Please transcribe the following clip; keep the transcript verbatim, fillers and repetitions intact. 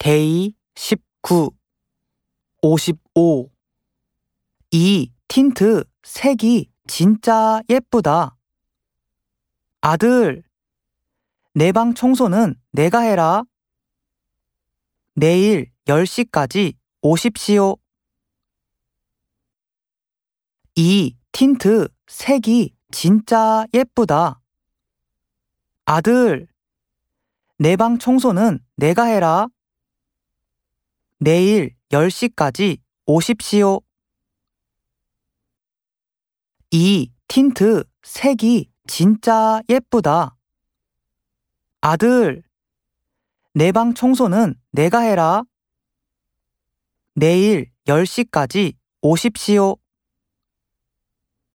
데이 십구, 오십오. 이 틴트 색이 진짜 예쁘다. 아들, 내 방 청소는 내가 해라. 내일 열 시까지 오십시오. 이 틴트 색이 진짜 예쁘다. 아들, 내 방 청소는 내가 해라. 내일 열 시까지 오십시오. 이 틴트 색이 진짜 예쁘다. 아들, 내 방 청소는 내가 해라. 내일 열 시까지 오십시오.